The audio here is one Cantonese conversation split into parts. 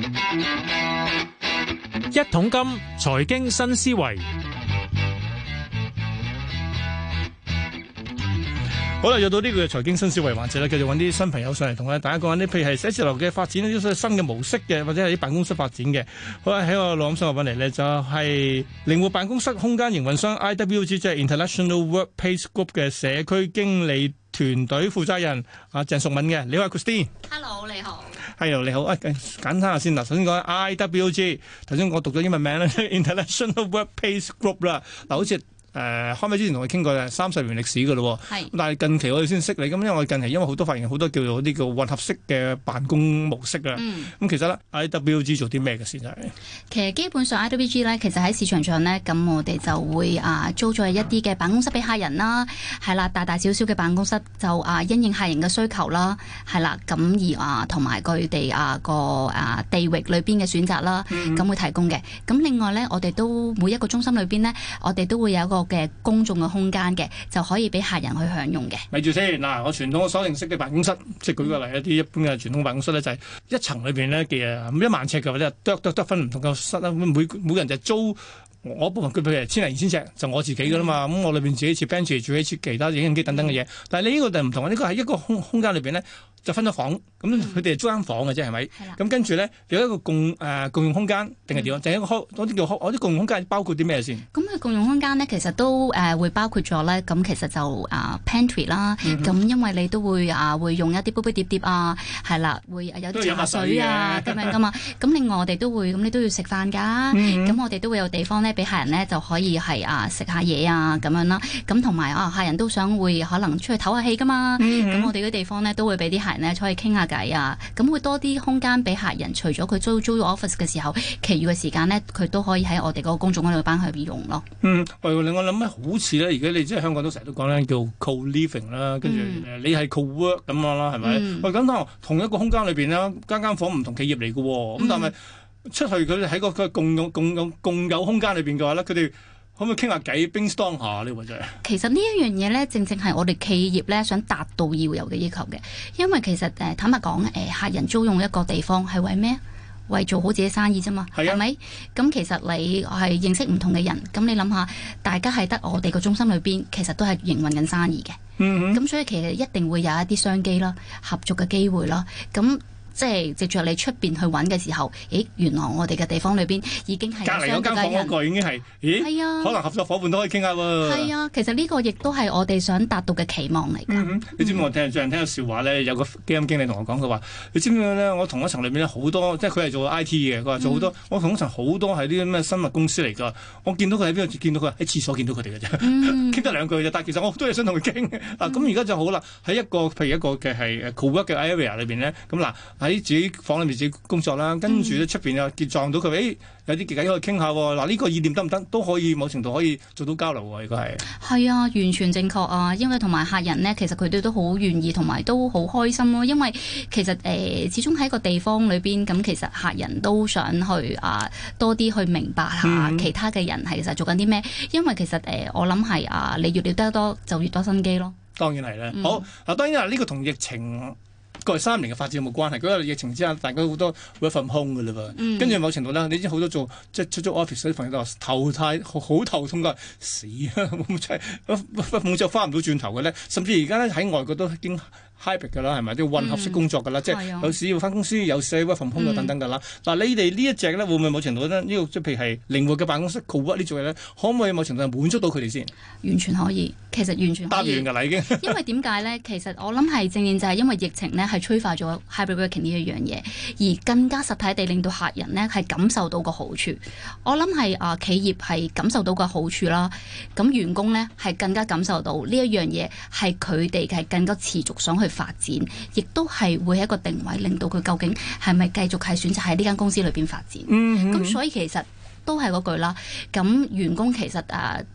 一桶金財經新思維， 好啦，又到呢個財經新思維環節啦，繼續揾啲新朋友上嚟同大家講緊啲，譬如係寫字樓嘅發展，啲新嘅模式嘅，或者係啲辦公室發展嘅。好啦，喺我錄音室揾嚟呢，就係靈活辦公室空間營運商 IWG， 即係 International Workplace Group 嘅社區經理團隊負責人阿鄭淑敏嘅。你好，Christine。Hello， 你好。 係，你好。簡單下先嗱，首先講 IWG， 頭先我讀咗英文名啦 ，International Workplace Group 啦。嗱，好似開咪之前同佢傾過嘅30年歷史㗎咯， 係。 但係近期我哋先識你，咁因為我近期因為好多發現好多叫做啲叫混合式嘅辦公模式啊。咁其實咧 IWG 做啲咩嘅先係？ 其實基本上 IWG 咧，其實喺市場上咧，咁我哋就會租咗一啲嘅辦公室俾客人啦，係啦，大大小小嘅辦公室就因應客人嘅需求啦，係啦，咁而同埋佢哋個地域裏邊嘅選擇啦，咁會提供嘅。咁另外咧，我哋都每一個中心裏邊咧，我哋都會有一個嘅公眾嘅空間嘅，就可以俾客人去享用嘅。 咪住先嗱，我傳統我所認識嘅辦公室，即係舉個例，一啲一般嘅傳統辦公室咧，就係一層裏邊咧嘅1萬尺嘅，或者得分唔同嘅室啦。每人就租我部分，佢譬如1000零2000尺，就我自己噶啦嘛。咁我裏邊自己設 bench， 自己設其他影印機等等嘅嘢。但係你呢個就唔同，呢個係一個空間裏邊咧。就分咗房，咁佢哋係租間房嘅啫，係咪？咁跟住咧有一個共用空間定係點樣？就係一個嗰啲叫我啲共用空間包括啲咩先？ 咁佢共用空間咧，其實都會包括咗咧。咁其實就pantry 啦。咁因為你都會用一啲杯杯碟碟啊，係啦，會有啲茶水啊咁樣噶嘛。咁另外我哋都會，咁你都要食飯㗎。咁我哋都會有地方咧，俾客人咧就可以係食下嘢啊咁樣啦。咁同埋客人都想會可能出去唞下氣㗎嘛。咁我哋嗰啲地方咧都會俾啲客人咧可以傾下偈啊，咁會多啲空間俾客人。除咗佢租 office 嘅時候，其餘嘅時間咧，佢都可以喺我哋嗰個公眾嗰度班去用咯。 令我諗咧，好似咧，而家你即係香港都成日都講咧，叫 co-living 啦，跟住你係 co-work 咁樣啦，係咪？咁同一個空間裏邊咧，間房唔同企業嚟嘅喎，咁但係出去佢哋喺個共有空間裏邊嘅話咧，佢哋可唔可以傾下偈 brainstorm 下呢？或者其實呢一樣嘢咧，正正係我哋企業咧想達到要有嘅要求嘅。因為其實坦白講，客人租用一個地方係為咩？為做好自己生意啫嘛，係咪？咁其實你係認識唔同嘅人，咁你諗下，大家係得我哋個中心裏邊，其實都係營運緊生意嘅。咁所以其實一定會有一啲商機啦、合作嘅機會啦。咁即係藉著你出邊去揾嘅時候，原來我哋嘅地方裏邊已經係隔離嗰間房嗰個已經係，係啊，可能合作伙伴都可以傾下喎。 係啊，其實呢個亦都係我哋想達到嘅期望嚟㗎。 你知唔知我最近聽個笑話咧？有個基金經理同我講，佢話：你知唔知咧？我同一層裏面咧好多，即係佢係做 I T 嘅，佢話做好多。我同一層好多係啲咩生物公司嚟㗎。我見到佢喺邊度見到佢？喺廁所見到佢哋嘅啫，傾得2句啫。但係其實我好多嘢想同佢傾。咁而家就好啦，喺譬如一個嘅係 co-work 嘅 area 裏邊咧，咁嗱。喺自己房裏面自己工作啦，跟住咧出邊又結撞到佢，有啲偈可以傾下喎。嗱，呢個意念得唔得？都可以某程度可以做到交流喎。應該係係啊，完全正確啊！因為同埋客人呢，其實佢哋都好願意，同埋都好開心咯。因為其實始終喺個地方裏邊，咁其實客人都想去多啲去明白下其他嘅人係其實做緊啲咩。因為其實我諗係你越了得多，就越多新機咯。 當然係啦。好嗱，當然呢個同疫情過去3年嘅發展有冇關係？嗰個疫情之下，大家好多 work from home 㗎啦噃。跟住某程度咧，你知好多做即係出租 office 嗰啲朋友都話好頭痛㗎，死啊！冇就翻唔到轉頭嘅咧。甚至而家咧喺外國都已經 hybrid 㗎啦，係咪？啲混合式工作㗎啦，即係有時要翻公司，有時 work from home 等等㗎啦。嗱，你哋呢一隻咧會唔會某程度咧呢個即係譬如係靈活嘅辦公室 co-work 呢種嘢咧，可唔可以某程度係滿足到佢哋先？ 完全可以，其實完全可以。 答完㗎啦已經。 因為點解咧？其實我諗係正正就係因為疫情咧係催化咗 hybrid working 呢一樣嘢，而更加實體地令到客人咧係感受到個好處。我諗係企業係感受到個好處啦，咁員工咧係更加感受到呢一樣嘢係佢哋係更加持續想去發展，亦都係會係一個定位，令到佢究竟係咪繼續係選擇喺呢間公司裏邊發展。咁所以其實都係嗰句啦。咁員工其實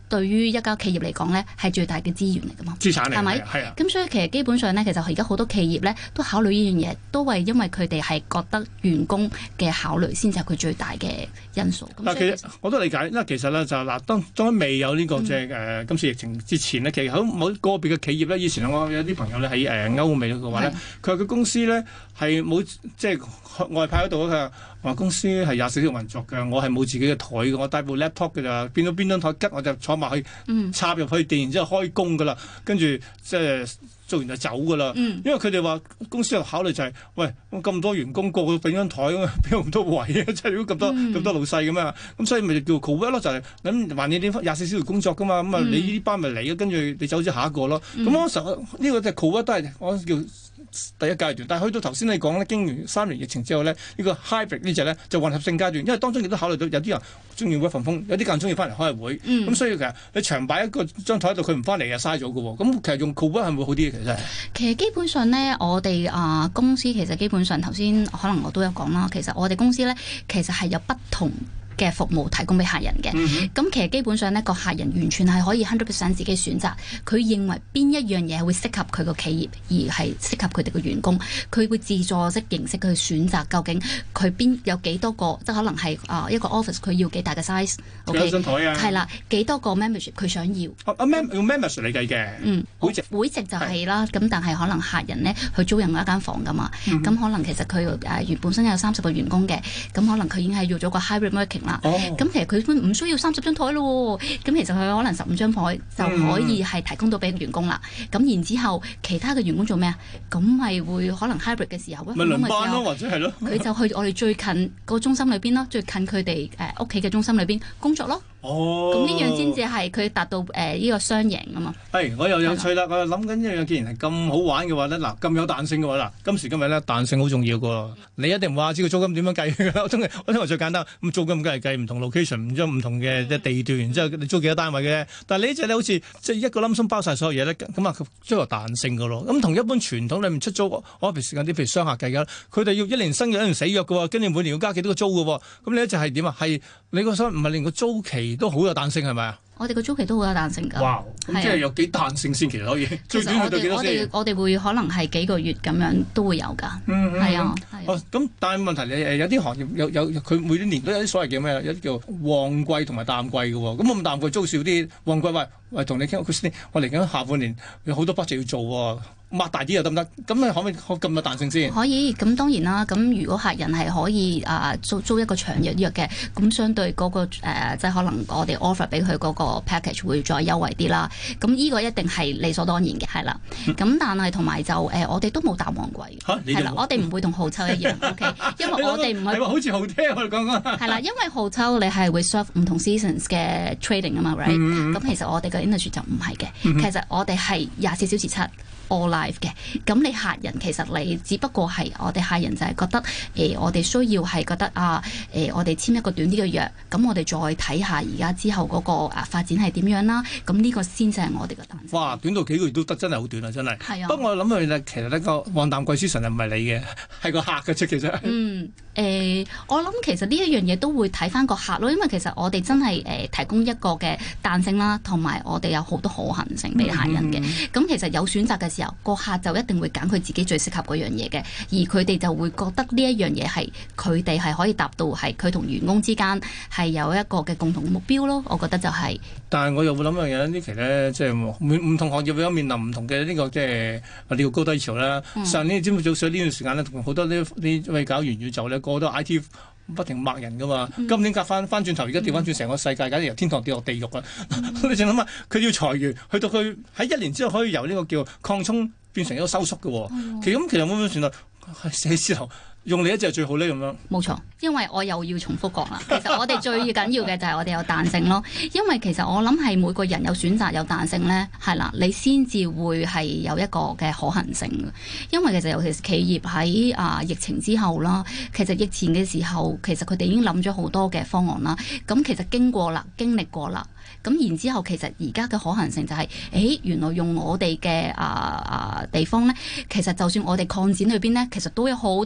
對於一家企業嚟講咧係最大嘅資源嚟噶嘛， 資產嚟係咪？ 係啊。 咁所以其實基本上咧，其實而家好多企業咧都考慮呢樣嘢，都係因為佢哋係覺得員工嘅考慮先至係佢最大嘅因素。 嗱，其實我都理解，因為其實咧就嗱，當未有呢個即係今次疫情之前咧，其實喺某個別嘅企業咧，以前我有啲朋友咧喺歐美嘅話咧，佢話佢公司咧係冇即係外派嗰度，佢話公司係24小時運作嘅，我係冇自己嘅台嘅，我帶部 laptop 嘅咋，變到邊張台吉我就坐埋去插入去電，然之後開工㗎啦，跟住即係做完就走㗎啦。因為佢哋話公司有考慮就係，喂，咁多員工個個俾張台咁啊，邊有咁多位啊？即係如果咁多老細咁啊，咁所以咪叫 co-work 咯，就係咁還你啲24小時工作㗎嘛，咁啊你呢班咪嚟嘅，跟住你走咗下一個咯。咁嗰時候呢個就 co-work 都係我叫第一階段，但係去到頭先你講咧，經完3年疫情之後咧，呢個 hybrid 呢隻咧就混合性階段，因為當中亦都考慮到有啲人中意 work from home，有啲更中意翻嚟開會，咁所以其實你長擺一個張台喺度，佢唔翻嚟啊嘥咗嘅喎，咁其實用 co-work 係會好啲嘅， 其實基本上咧，我哋公司其實基本上頭先可能我都有講啦，其實我哋公司咧其實係有不同嘅服務提供俾客人嘅，咁其實基本上呢個客人完全係可以 100% 自己選擇，佢認為邊一樣嘢係會適合佢個企業，而係適合佢哋嘅員工，佢會自助式形式去選擇究竟佢邊有幾多個，即係可能係一個 office 佢要幾大嘅 size， 幾張台啊， 係啦，幾多個 membership 佢想要， 用 membership 嚟計嘅， 會籍就係啦，咁但係可能客人呢去租用一間房噶嘛，咁可能其實佢原本身有30個員工嘅，咁可能佢已經係要咗個 hybrid working。咁其實佢唔需要30張台咯，咁其實佢可能15張台就可以係提供到俾員工啦。咁然之後其他嘅員工做咩啊？咁咪會可能 hybrid 嘅時候， 咪輪班咯，或者係咯， 佢就去我哋最近個中心裏邊咯，最近佢哋屋企嘅中心裏邊工作咯。咁呢樣先至係佢達到呢個雙贏啊嘛。 係，我又有趣啦，我又諗緊一樣，既然係咁好玩嘅話咧，嗱咁有彈性嘅話，嗱今時今日咧彈性好重要㗎。你一定唔話知個租金點樣計㗎啦？我聽話最簡單，咁租金梗係計唔同 location，唔將唔同嘅地段，然之後你租幾多單位嘅。但係你呢隻咧好似即係一個冧心包晒所有嘢咧，咁啊追求彈性㗎咯。咁同一般傳統裏面出租 office 時間啲，譬如商客計㗎，佢哋要1年新約1年死約㗎喎，跟住每年要加幾多個租㗎喎。咁你一隻係點啊？係你個所唔係連個租期都好有彈性係咪啊？ 我哋個租期都好有彈性㗎。 哇！咁即係有幾彈性先，其實可以最短去到幾多先？ 我哋會可能係幾個月咁樣都會有㗎。係啊。 咁但係問題你有啲行業有佢每年都有啲所謂叫咩？有啲叫旺季同埋淡季嘅喎。咁我淡季租少啲，旺季喂同你傾，我嚟緊下半年有好多 budget 要做喎。擘大啲又得唔得？咁你可唔可以咁有彈性先？ 可以，咁當然啦。咁如果客人係可以租一個長約嘅，咁相對嗰個即係可能我哋 offer 俾佢嗰個 package 會再優惠啲啦。咁呢個一定係理所當然嘅，係啦。咁但係同埋就我哋都冇淡旺季，係啦，我哋唔會同號抽一樣，OK？因為我哋唔係好似好聽我哋講講。 係啦，因為號抽你係會 serve 唔同 seasons 嘅 trading 啊嘛 ，right？咁其實我哋嘅 industry 就唔係嘅，其實我哋係24小時7。all live 嘅，咁你客人其實你只不過係我哋客人就係覺得我哋需要係覺得我哋簽一個短啲嘅約，咁我哋再睇下而家之後嗰個發展係點樣啦，咁呢個先至係我哋嘅彈性。 哇，短到幾個月都得，真係好短啊，真係。 係啊。 不過我諗佢咧，其實呢個旺淡季之神又唔係你嘅，係個客嘅啫，其實。 我諗其實呢一樣嘢都會睇翻個客咯，因為其實我哋真係提供一個嘅彈性啦，同埋我哋有好多可行性俾客人嘅。咁其實有選擇嘅時候，個客就一定會揀佢自己最適合嗰樣嘢嘅，而佢哋就會覺得呢一樣嘢係佢哋係可以達到係佢同員工之間係有一個嘅共同目標咯。我覺得就係。但係我又會諗一樣嘢呢期呢，即係唔同行業會有面臨唔同嘅呢個即係呢個高低潮啦。上年知唔知早上呢段時間呢，同好多呢位搞元宇宙呢，個個都 IT 不停抹人噶嘛。今年隔翻轉頭，而家調翻轉成個世界，簡直由天堂跌落地獄啦！你淨諗下，佢要裁員，去到佢喺1年之後可以由呢個叫擴充變成一個收縮嘅喎。其實會唔會算啦？寫字樓用你一隻係最好呢？咁樣。冇錯，因為我又要重複講啦。其實我哋最緊要嘅就係我哋有彈性咯。因為其實我諗係每個人有選擇有彈性咧，係啦，你先至會係有一個嘅可行性嘅。因為其實尤其是企業喺疫情之後啦，其實疫前嘅時候，其實佢哋已經諗咗好多嘅方案啦。咁其實經歷過啦。咁然之後，其實而家嘅可行性就係，原來用我哋嘅地方咧，其實就算我哋擴展裏邊咧，其實都有好多選擇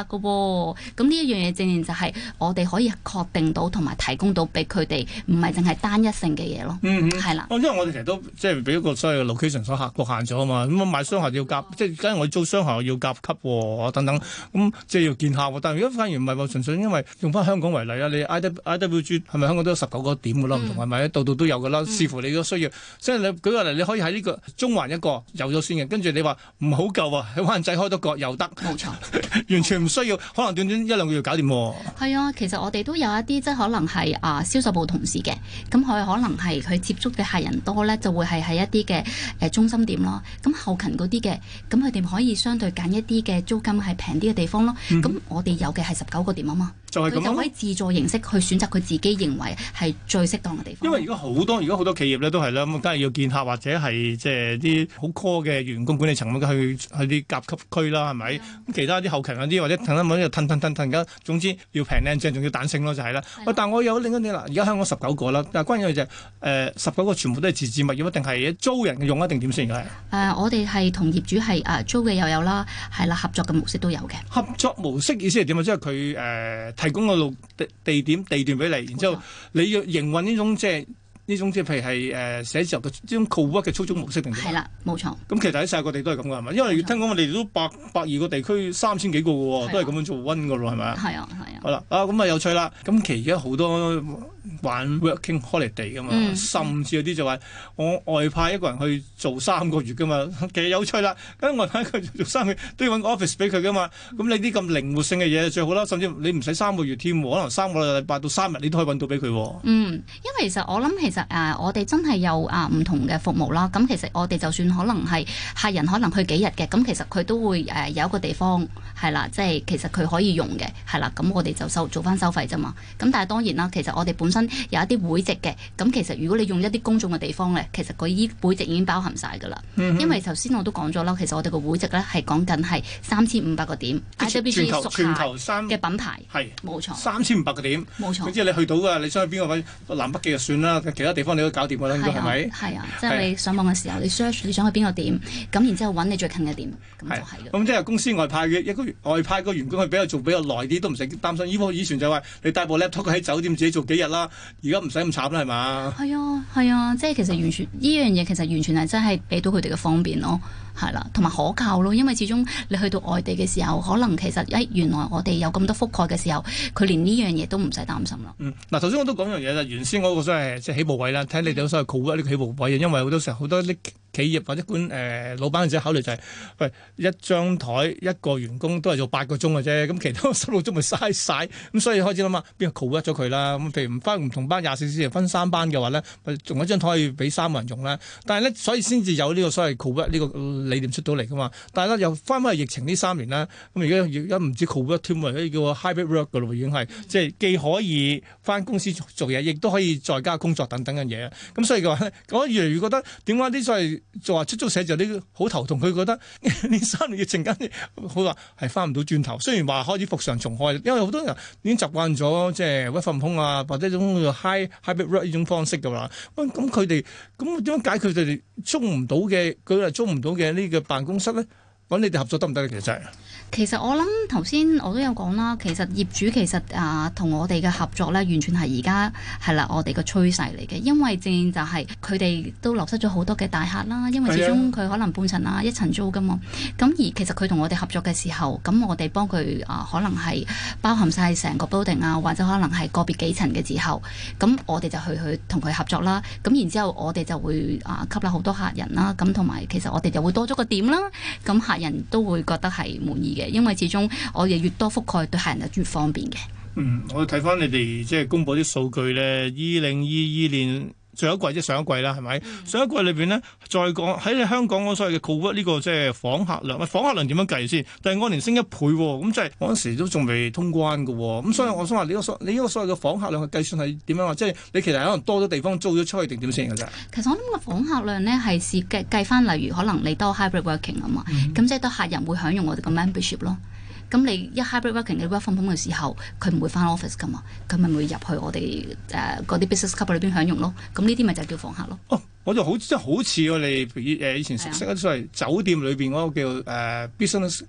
㗎喎。咁呢一樣嘢正正就係我哋可以確定到同埋提供到俾佢哋，唔係淨係單一性嘅嘢咯。係啦。 因為我哋其實都即係俾一個所謂嘅 location 所局限咗啊嘛。咁我買商廈要夾，即係梗係我租商廈要夾級喎，等等。咁即係要見客喎。但係如果反而唔係話純粹因為用翻香港為例啊，你 IWG 係咪香港都有19個點㗎啦？唔同係咪？度度都有㗎啦。視乎你個需要。即係你舉個例，你可以喺呢個中環一個有咗先嘅，跟住你話唔好夠啊，喺灣仔開多個又得。 冇錯。 完全唔需要，可能短短1-2個月搞掂喎。 係啊，其實我哋都有一啲即係可能係銷售部同事嘅，咁佢可能係佢接觸嘅客人多咧，就會係喺一啲嘅中心點咯。咁後勤嗰啲嘅，咁佢哋可以相對揀一啲嘅租金係平啲嘅地方咯。咁我哋有嘅係19個點啊嘛， 就係咁，佢就可以自助形式去選擇佢自己認為係最適當嘅地方。 因為而家好多企業咧都係啦，咁梗係要見客或者係即係啲好 core 嘅員工管理層咁去啲甲級區啦，係咪？咁其他啲後勤嗰啲或者騰一騰而家總之要平靚正，仲要彈性咯，就係啦。喂，但我有另一啲啦，而家香港19個啦，但係關鍵嘅就係19個全部都係自置物業，一定係租人用一定點先㗎？ 我哋係同業主係租嘅又有啦，係啦，合作嘅模式都有嘅。 合作模式意思係點啊？即係佢提供個地段俾你，然之後你要營運呢種即係譬如係寫字樓嘅呢種 co-work 嘅操縱模式定點？係啦，冇錯。咁其實喺世界各地都係咁㗎，係咪？因為聽講我哋都120個地區3000幾個嘅喎，都係咁樣做 run 㗎咯，係咪啊？係啊。好啦，咁啊有趣啦。咁其實而家好多玩 working holiday 㗎嘛，甚至有啲就話我外派一個人去做3個月㗎嘛，其實有趣啦。咁外派佢做3個月都要揾個 office 俾佢㗎嘛。咁你啲咁靈活性嘅嘢最好啦，甚至你唔使3個月添，可能3個禮拜到3日你都可以揾到俾佢。 因為其實我諗其實我哋真係有唔同嘅服務啦。咁其實我哋就算可能係客人可能去幾日嘅，咁其實佢都會有一個地方係啦，即係其實佢可以用嘅係啦。咁我哋就做翻收費啫嘛。咁但係當然啦，其實我哋本身有一啲會籍嘅。咁其實如果你用一啲公眾嘅地方咧，其實佢依會籍已經包含晒㗎啦。因為頭先我都講咗啦，其實我哋個會籍咧係講緊係3500個點，IWG 全球嘅品牌係冇錯 ，3500個點冇錯。即係你去到㗎，你想去邊個位南北極就算啦，其他地方你都搞掂㗎啦，應該係咪？係啊，即係你上網嘅時候，你 search 你想去邊個點，咁然之後揾你最近嘅點，咁就係㗎。咁即係公司外派嘅一個外派個員工去做比較耐啲，都唔使擔心。以前就話你帶部 laptop 喺酒店自己做幾日啦，而家唔使咁慘啦，係嘛？係啊，即係其實完全呢樣嘢其實完全係真係俾到佢哋嘅方便咯。係啦，同埋可靠咯，因為始終你去到外地嘅時候，可能其實原來我哋有咁多覆蓋嘅時候，佢連呢樣嘢都唔使擔心啦。嗱，頭先我都講樣嘢啦，原先嗰個所謂即係起步位啦，睇你哋所謂 co-work 呢個起步位，因為好多時候好多啲企業或者老闆自己考慮就係，喂，一張台一個員工都係做8個鐘嘅啫，咁其他16個鐘咪嘥晒，咁所以開始諗下邊個 co-work 咗佢啦。咁譬如唔翻唔同班24小時分3班嘅話咧，咪仲有一張台可以俾3個人用啦。但係咧，所以先至有呢個所謂 co-work 呢個理念出到嚟噶嘛。但係咧又翻返去疫情呢3年啦，咁而家唔知 co-work 添喎，叫 hybrid work 噶咯，已經係即係既可以翻公司做嘢，亦都可以在家工作等等嘅嘢。咁所以嘅話咧，我越嚟越覺得點解啲所謂做話出租寫字樓呢好頭痛，佢覺得呢3年疫情間好話係翻唔到轉頭。雖然話開始復常重開，因為好多人已經習慣咗即係 work from home 啊，或者種 hybrid work 呢種方式㗎啦。咁佢哋咁點樣解決佢哋租唔到嘅佢係租唔到嘅呢個辦公室咧？揾你哋合作得唔得咧？其實我諗頭先我都有講啦，其實業主其實同我哋嘅合作咧，完全係而家係啦，我哋嘅趨勢嚟嘅。因為正就係佢哋都流失咗好多嘅大客啦，因為始終佢可能半層啊一層租噶嘛。咁而其實佢同我哋合作嘅時候，咁我哋幫佢可能係包含晒成個 building 啊，或者可能係個別幾層嘅時候，咁我哋就去同佢合作啦。咁然之後我哋就會吸納好多客人啦。咁同埋其實我哋就會多咗個點啦。咁客人都會覺得係滿意嘅，因為始終我哋越多覆蓋，對客人就越方便嘅。我睇翻你哋即係公佈啲數據咧，2022年最後一季即係上一季啦，係咪？上一季裏邊呢，再講喺你香港嗰所謂嘅 co-work 呢個即係訪客量，訪客量點樣計先？但係按年升1倍喎，咁即係嗰陣時都仲未通關嘅喎，咁所以我想話你呢個所謂嘅訪客量嘅計算係點樣話？即係你其實可能多咗地方租咗出去定點先嘅啫？其實我諗個訪客量呢係計翻，例如可能你多 hybrid working 啊嘛，咁即係多客人會享用我哋嘅 membership 咯。咁你一 hybrid working 你 work from home 嘅時候，佢唔會翻 office 噶嘛，佢咪會入去我哋嗰啲 business club 裏邊享用咯。咁呢啲咪就叫訪客咯。 我就好似我哋以前熟悉嗰啲所謂酒店裏邊嗰個叫business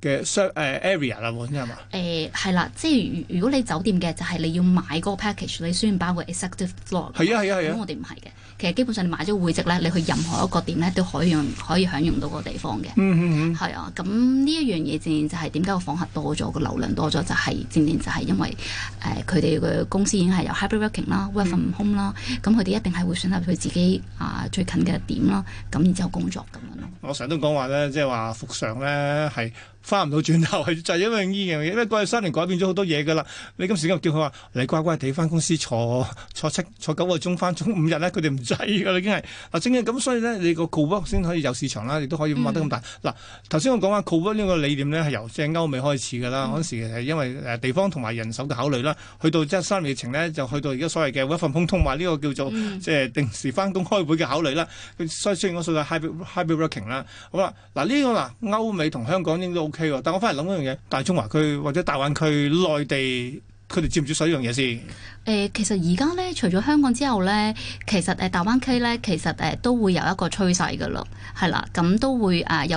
嘅area 啦，喎，係嘛？ 係啦，即係如果你酒店嘅就係你要買嗰個 package，你需要包括 executive floor。 係啊。 咁我哋唔係嘅，其實基本上你買咗會籍咧，你去任何一個店咧都可以享用到個地方嘅。係啊，咁呢一樣嘢正正就係點解個訪客多咗，個流量多咗，就係正正就係因為佢哋嘅公司已經係有 hybrid working 啦，work from home 啦，咁佢哋一定係會選擇佢自己最近嘅點啦，咁然之後工作咁樣咯。 我成日都講話咧，即係話復常咧係翻唔到轉頭，係就係因為呢樣嘢，因為過去3年改變咗好多嘢㗎啦。你今時今日叫佢話你乖乖地翻公司坐9個鐘翻5日咧，佢哋唔制㗎啦，已經係嗱，正係咁，所以咧你個 co-work 先可以有市場啦，亦都可以擘得咁大。嗱，頭先我講話 co-work 呢個理念咧係由即係歐美開始㗎啦，嗰陣時係因為地方同埋人手嘅考慮啦，去到即係3年疫情咧就去到而家所謂嘅 work from home 同埋呢個叫做即係定時翻工開會嘅考慮啦。所以雖然我數係 hybrid working 啦，好啦，嗱呢個歐美同香港應該都 OK 喎，但我翻嚟諗一樣嘢，大中華區或者大灣區內地，佢哋接唔接受呢樣嘢先？ 其實而家咧，除咗香港之後咧，其實大灣區咧，其實都會有一個趨勢㗎啦，係啦，咁都會有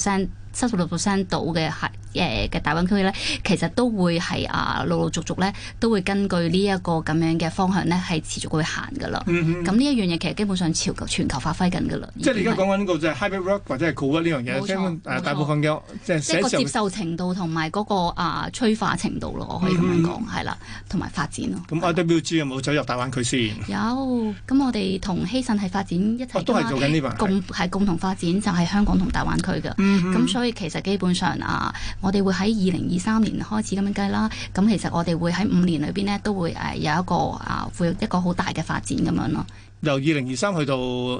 76%到嘅嘅大灣區咧，其實都會係陸陸續續咧，都會根據呢一個咁樣嘅方向咧，係持續會行㗎啦。咁呢一樣嘢其實基本上全球發揮緊㗎啦。 即係你而家講緊呢個就係 hybrid work 或者係 co-work 呢樣嘢， 冇錯， 大部分嘅即係個接受程度同埋嗰個催化程度咯，我可以咁樣講係啦，同埋發展咯。 咁 IWG 有冇走入大灣區先？ 有，咁我哋同希慎係發展一齊， 都係做緊呢份， 共同發展就係香港同大灣區嘅。咁所以其實基本上我哋會喺2023年開始咁樣計啦。咁其實我哋會喺5年裏邊呢，都會有一個會有一個好大嘅發展咁樣咯。 由2023去到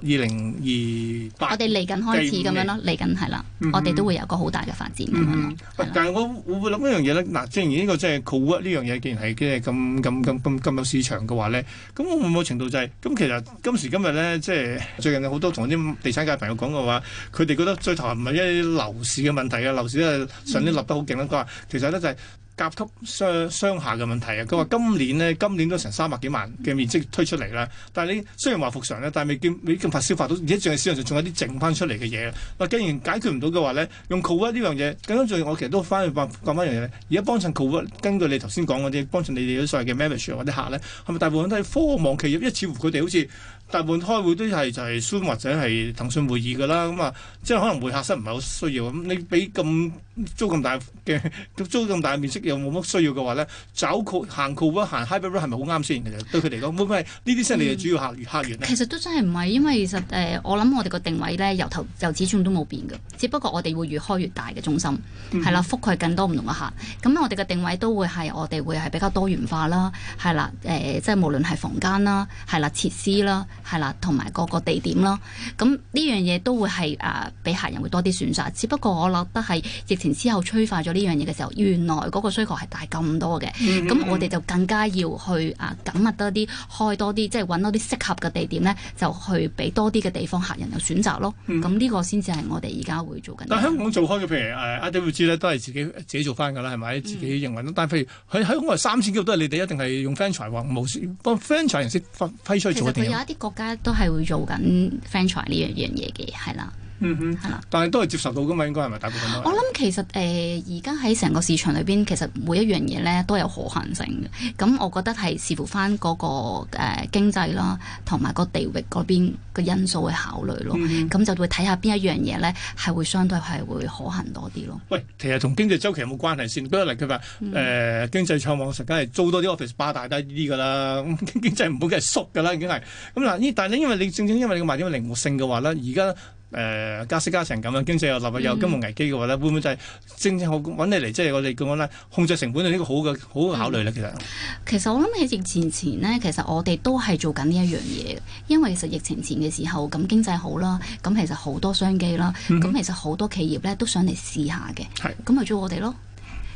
2028， 我哋嚟緊開始咁樣咯，嚟緊係啦，我哋都會有一個好大嘅發展咁樣咯。 但係我會諗一樣嘢咧，嗱，正如呢個即係 co-work 呢樣嘢，既然係即係咁有市場嘅話咧，咁我會唔會程度就係咁？其實今時今日咧，即係最近有好多同啲地產界朋友講嘅話，佢哋覺得最頭唔係一啲樓市嘅問題啊，樓市咧上年立得好勁啦。佢話其實咧就係甲級商廈嘅問題啊！佢話今年都成300幾萬嘅面積推出嚟啦，但係你雖然話復常咧，但係未咁快消化到，而且仲係市場上仲有啲剩翻出嚟嘅嘢。嗱，既然解決唔到嘅話咧，用 co-work 呢樣嘢，更加重要。我其實都翻去講翻一樣嘢咧。而家幫襯 co-work，根據你頭先講嗰啲，幫襯你哋啲所謂嘅 manager 或者客咧，係咪大部分都係科網企業？因為似乎佢哋好似大部分開會都係就係 Zoom 或者係騰訊會議㗎啦。咁即係可能會客室唔係好需要。咁你俾租咁大嘅面積又冇乜需要嘅話咧，行 co-work 行 hybrid work 係咪好啱先？其實對佢嚟講，會唔會係呢啲先係你嘅主要客源咧？ 其實都真係唔係，因為其實我諗我哋個定位咧由始終都冇變嘅，只不過我哋會越開越大嘅中心，係啦，覆蓋更多唔同嘅客。咁我哋嘅定位都會係我哋會係比較多元化啦，係啦，即係無論係房間啦，係啦，設施啦，係啦，同埋個地點啦。咁呢樣嘢都會係俾客人會多啲選擇。只不過我覺得係疫情之後催化咗呢樣嘢嘅時候，原來嗰個需求係大咁多嘅。咁我哋就更加要去緊密多啲，開多啲，即係揾多啲適合嘅地點咧，就去俾多啲嘅地方客人有選擇咯。咁呢個先至係我哋而家會做緊。 但香港做開嘅，譬如IWG 咧，都係自己做翻㗎啦，係咪？自己營運。但係譬如喺香港3000幾個都係你哋一定係用 franchise 或無線幫 franchise 形式批出去做。 其實佢有一啲國家都係會做緊 franchise 呢樣嘢嘅，係啦。係啦， 但係都係接受到㗎嘛？應該係咪大部分都？ 我諗其實而家喺成個市場裏邊，其實每一樣嘢咧都有可行性嘅。咁我覺得係視乎翻嗰個經濟啦，同埋個地域嗰邊嘅因素去考慮咯。咁就會睇下邊一樣嘢咧係會相對係會可行多啲咯。 喂，其實同經濟周期有冇關係先？舉個例，佢話經濟暢旺實梗係租多啲 office 巴大低啲㗎啦。咁經濟唔好梗係縮㗎啦，已經係咁嗱。但係因為你正因為你賣點靈活性嘅話咧，而家加息加成咁樣，經濟又立有金融危機嘅話咧，會唔會就係正好揾你嚟，即係我哋講咧控制成本係呢個好嘅考慮咧？其實我諗喺疫情前呢，其實我哋都係做緊呢一樣嘢，因為其實疫情前嘅時候咁經濟好啦，咁其實好多商機啦，咁其實好多企業咧都想嚟試下嘅，咁咪做我哋咯。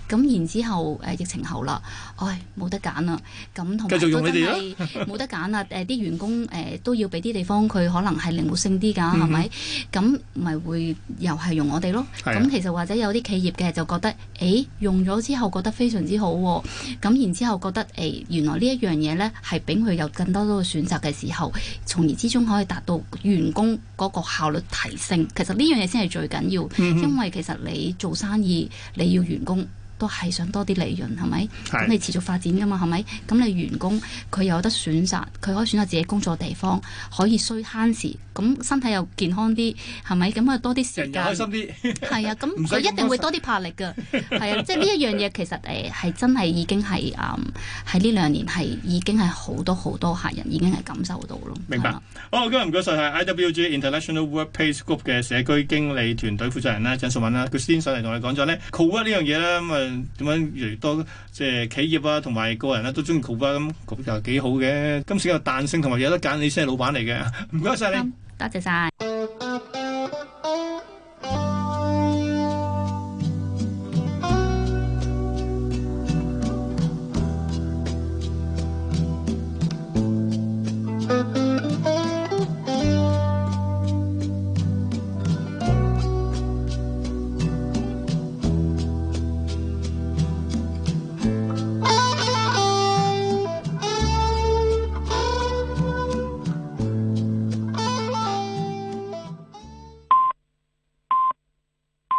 咁然之後疫情後啦，冇得揀啦，咁同埋繼續用你哋都真係冇得揀啦。啲員工都要俾啲地方佢可能係靈活性啲㗎，係咪？咁咪會又係用我哋咯。咁其實或者有啲企業嘅就覺得，用咗之後覺得非常之好喎。咁然之後覺得原來呢一樣嘢咧係俾佢有更多嘅選擇嘅時候，從而之中可以達到員工嗰個效率提升。其實呢樣嘢先係最緊要，因為其實你做生意你要員工。都係想多啲利潤，係咪？咁你持續發展㗎嘛，係咪？咁你員工佢有得選擇，佢可以選擇自己工作地方，可以慳時，咁身體又健康啲，係咪？咁啊多啲時間， 開心啲。 係啊，咁佢一定會多啲魄力㗎。係啊，即係呢一樣嘢其實係真係已經係喺呢2年係已經係好多客人已經係感受到咯。 明白。好，今日唔該晒係 IWG International Workplace Group 嘅社區經理團隊負責人啦，鄭淑敏啦，佢先上嚟同我哋講咗咧 co-work 呢樣嘢咧，咁啊點樣越嚟越多即係企業啊同埋個人咧都中意 co-work，咁就幾好嘅。今次有彈性同埋有得揀，你先係老闆嚟嘅。唔該晒你， 多謝晒。